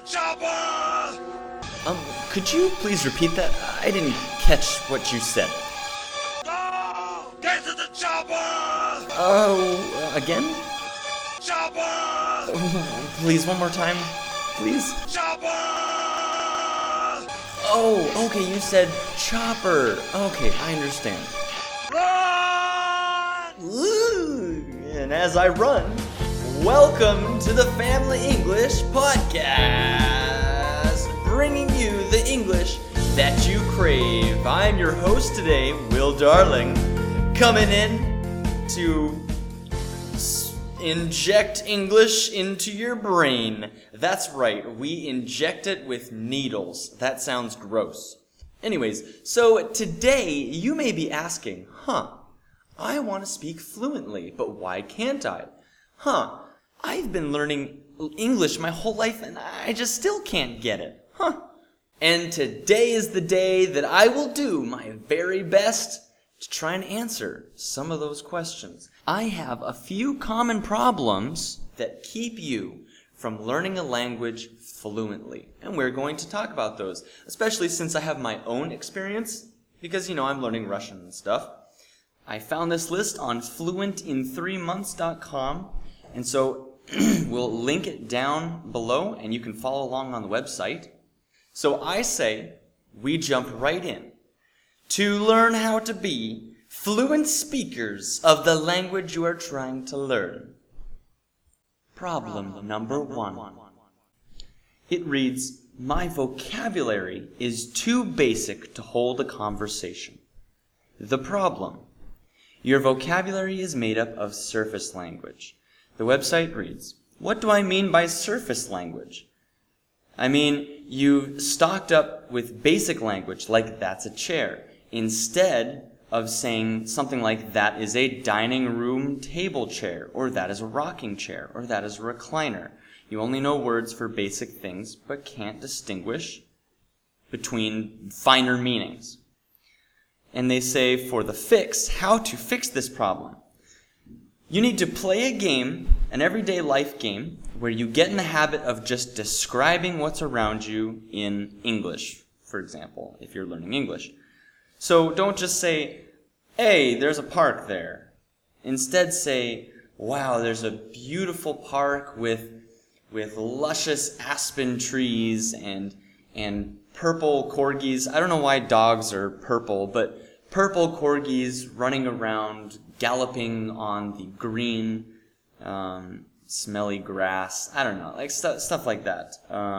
Chopper! Could you please repeat that? I didn't catch what you said. Go! Get to the chopper! Oh, again? Chopper! Please, one more time. Please. Chopper! Oh, okay, you said chopper. Okay, I understand. Run! Ooh, and as I run, welcome to the Family English Podcast, bringing you the English that you crave. I'm your host today, Will Darling, coming in to inject English into your brain. That's right, we inject it with needles. That sounds gross. Anyways, so today you may be asking, I want to speak fluently, but why can't I? I've been learning English my whole life and I just still can't get it. And today is the day that I will do my very best to try and answer some of those questions. I have a few common problems that keep you from learning a language fluently. And we're going to talk about those, especially since I have my own experience, because, I'm learning Russian and stuff. I found this list on fluentin3months.com, and so we'll link it down below, and you can follow along on the website. So I say we jump right in to learn how to be fluent speakers of the language you are trying to learn. Problem number 1. It reads, my vocabulary is too basic to hold a conversation. The problem. Your vocabulary is made up of surface language. The website reads, what do I mean by surface language? I mean, you've stocked up with basic language, like that's a chair, instead of saying something like that is a dining room table chair, or that is a rocking chair, or that is a recliner. You only know words for basic things, but can't distinguish between finer meanings. And they say for the fix, how to fix this problem. You need to play a game, an everyday life game, where you get in the habit of just describing what's around you in English, for example, if you're learning English. So don't just say, hey, there's a park there. Instead say, wow, there's a beautiful park with luscious aspen trees and purple corgis. I don't know why dogs are purple, but purple corgis running around, galloping on the green, smelly grass. I don't know, like stuff like that.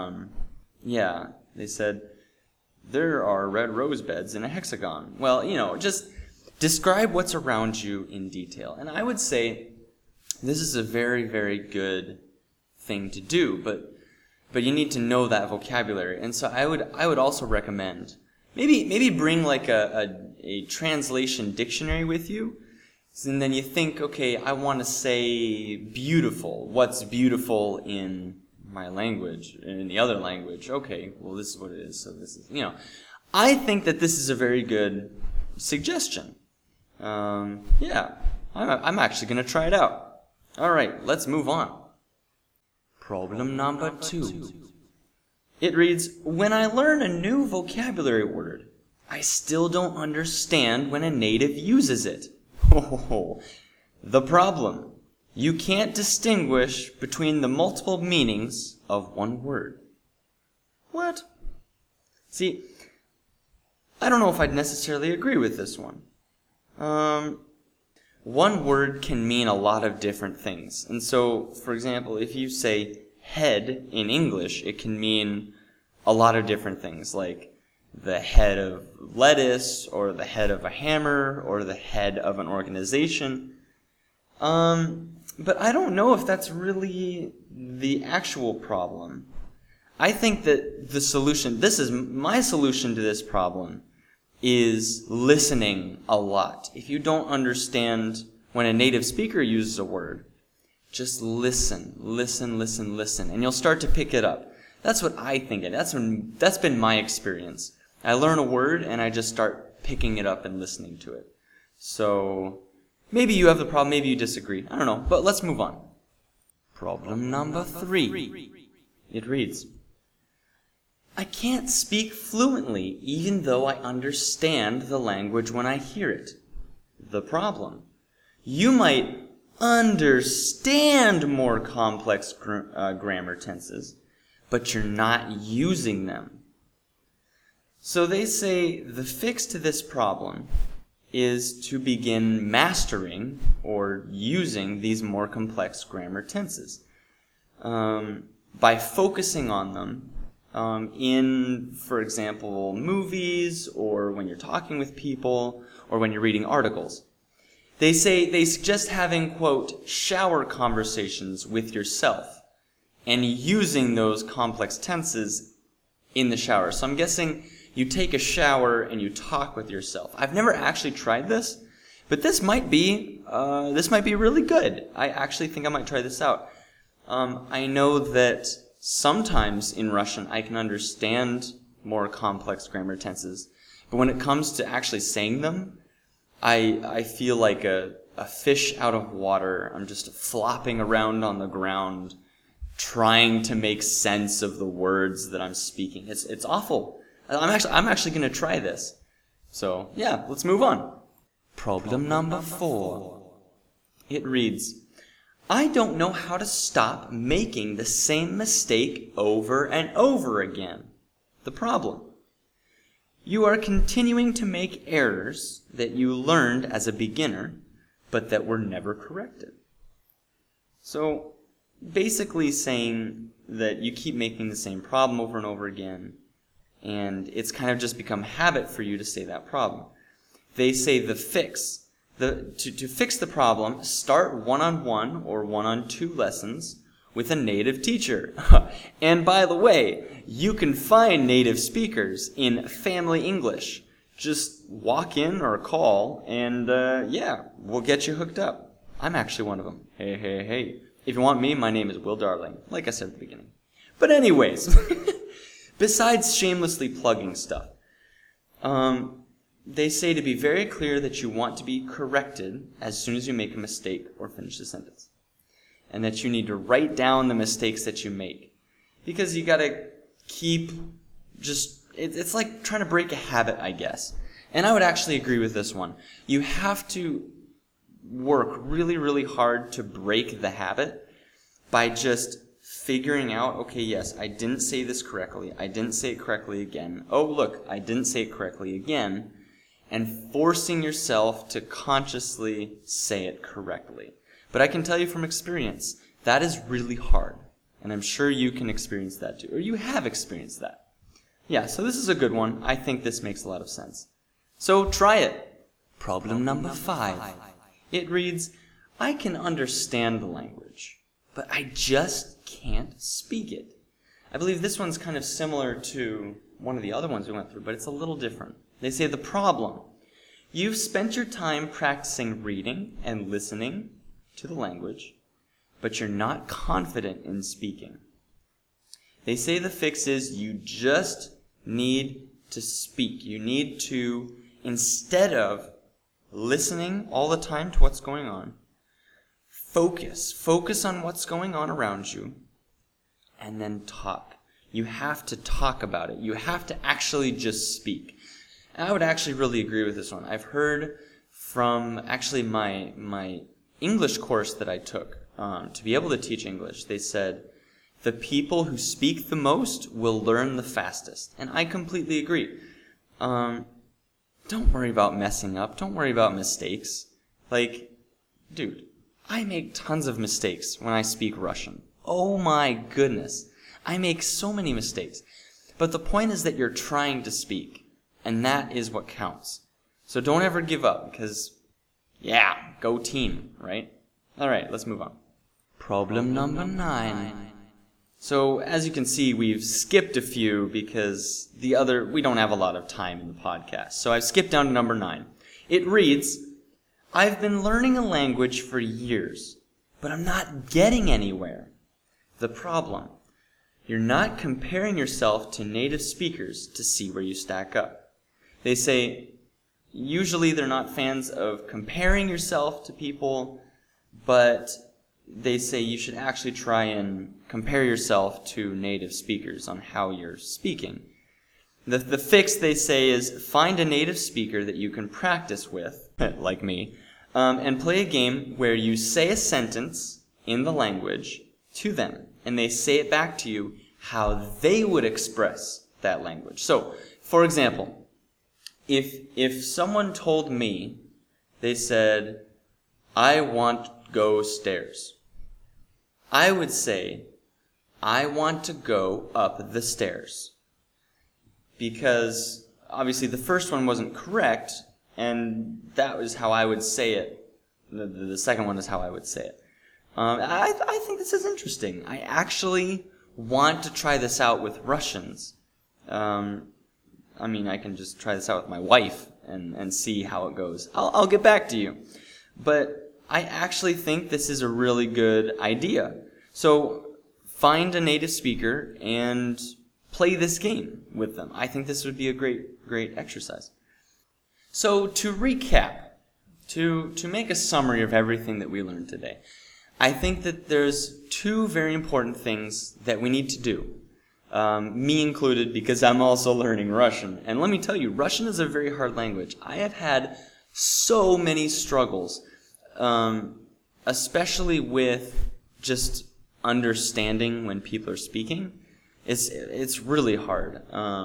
They said, there are red rose beds in a hexagon. Well, just describe what's around you in detail. And I would say this is a very, very good thing to do, but you need to know that vocabulary. And so I would also recommend maybe bring like a translation dictionary with you. And then you think, okay, I want to say beautiful. What's beautiful in my language, in the other language? Okay, well, this is what it is. So this is, I think that this is a very good suggestion. I'm actually going to try it out. All right, let's move on. Problem number 2. It reads, when I learn a new vocabulary word, I still don't understand when a native uses it. The problem. You can't distinguish between the multiple meanings of one word. What? See, I don't know if I'd necessarily agree with this one. One word can mean a lot of different things. And so, for example, if you say head in English, it can mean a lot of different things, like the head of lettuce, or the head of a hammer, or the head of an organization. But I don't know if that's really the actual problem. I think that the solution, this is my solution to this problem, is listening a lot. If you don't understand when a native speaker uses a word, just listen, and you'll start to pick it up. That's what I think, and that's been my experience. I learn a word, and I just start picking it up and listening to it. So, maybe you have the problem, maybe you disagree. I don't know, but let's move on. Problem number 3. It reads, I can't speak fluently, even though I understand the language when I hear it. The problem. You might understand more complex grammar tenses, but you're not using them. So they say the fix to this problem is to begin mastering or using these more complex grammar tenses by focusing on them in, for example, movies, or when you're talking with people, or when you're reading articles. They suggest having, quote, shower conversations with yourself and using those complex tenses in the shower. So I'm guessing you take a shower and you talk with yourself. I've never actually tried this, but this might be really good. I actually think I might try this out. I know that sometimes in Russian I can understand more complex grammar tenses, but when it comes to actually saying them, I feel like a fish out of water. I'm just flopping around on the ground, trying to make sense of the words that I'm speaking. It's awful. I'm actually going to try this. So, yeah, let's move on. Problem number 4. It reads, I don't know how to stop making the same mistake over and over again. The problem. You are continuing to make errors that you learned as a beginner, but that were never corrected. So, basically saying that you keep making the same problem over and over again, and it's kind of just become habit for you to say that problem. They say the fix. To fix the problem, start one-on-one or one-on-two lessons with a native teacher. And by the way, you can find native speakers in Family English. Just walk in or call, and we'll get you hooked up. I'm actually one of them. Hey. If you want me, my name is Will Darling, like I said at the beginning. But anyways, besides shamelessly plugging stuff, they say to be very clear that you want to be corrected as soon as you make a mistake or finish the sentence. And that you need to write down the mistakes that you make. Because you gotta keep it's like trying to break a habit, I guess. And I would actually agree with this one. You have to work really, really hard to break the habit by just figuring out, okay, yes, I didn't say this correctly. I didn't say it correctly again. Oh, look, I didn't say it correctly again. And forcing yourself to consciously say it correctly. But I can tell you from experience, that is really hard. And I'm sure you can experience that too. Or you have experienced that. Yeah, so this is a good one. I think this makes a lot of sense. So try it. Problem number 5. It reads, I can understand the language, but I just can't speak it. I believe this one's kind of similar to one of the other ones we went through, but it's a little different. They say the problem. You've spent your time practicing reading and listening to the language, but you're not confident in speaking. They say the fix is you just need to speak. You need to, instead of listening all the time to what's going on, focus on what's going on around you, and then talk. You have to talk about it. You have to actually just speak. And I would actually really agree with this one. I've heard from actually my English course that I took to be able to teach English. They said, the people who speak the most will learn the fastest. And I completely agree. Don't worry about messing up. Don't worry about mistakes. Like, dude, I make tons of mistakes when I speak Russian. Oh my goodness. I make so many mistakes. But the point is that you're trying to speak. And that is what counts. So don't ever give up, because, yeah, go team, right? All right, let's move on. Problem number 9. So, as you can see, we've skipped a few because we don't have a lot of time in the podcast. So I've skipped down to number 9. It reads, I've been learning a language for years, but I'm not getting anywhere. The problem. You're not comparing yourself to native speakers to see where you stack up. They say, usually they're not fans of comparing yourself to people, but they say you should actually try and compare yourself to native speakers on how you're speaking. The fix, they say, is find a native speaker that you can practice with, like me, and play a game where you say a sentence in the language to them, and they say it back to you how they would express that language. So, for example, if someone told me, they said, I want to go stairs, I would say, I want to go up the stairs. Because obviously the first one wasn't correct, and that was how I would say it. The second one is how I would say it. I think this is interesting. I actually want to try this out with Russians. I can just try this out with my wife and see how it goes. I'll get back to you. But I actually think this is a really good idea. So find a native speaker and play this game with them. I think this would be a great exercise. So to recap, to make a summary of everything that we learned today, I think that there's two very important things that we need to do. Me included, because I'm also learning Russian. And let me tell you, Russian is a very hard language. I have had so many struggles, especially with just understanding when people are speaking. It's really hard.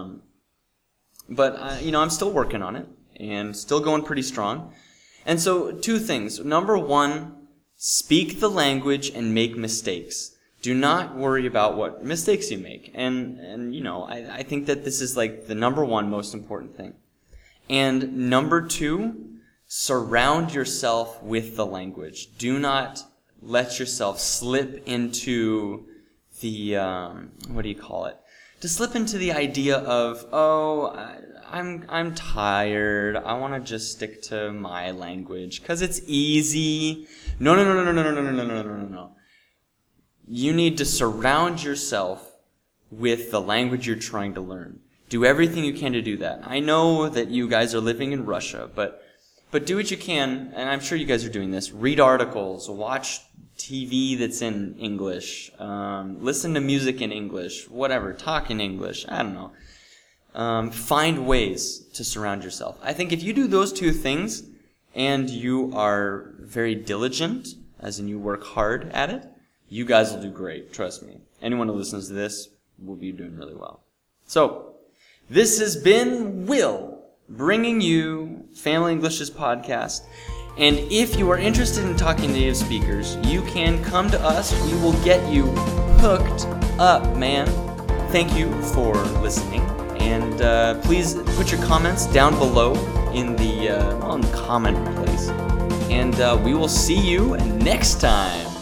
But I'm still working on it and still going pretty strong. And so two things. Number one, speak the language and make mistakes. Do not worry about what mistakes you make. And I think that this is like the number one most important thing. And number two, surround yourself with the language. Do not let yourself slip into the, to slip into the idea of, I'm tired, I want to just stick to my language because it's easy. No. You need to surround yourself with the language you're trying to learn. Do everything you can to do that. I know that you guys are living in Russia, but do what you can, and I'm sure you guys are doing this. Read articles, watch TV that's in English, listen to music in English, whatever, talk in English, I don't know. Find ways to surround yourself. I think if you do those two things, and you are very diligent, as in you work hard at it, you guys will do great, trust me. Anyone who listens to this will be doing really well. So, this has been Will, bringing you Family English's podcast. And if you are interested in talking to native speakers, you can come to us. We will get you hooked up, man. Thank you for listening. And please put your comments down below in the comment place. And we will see you next time.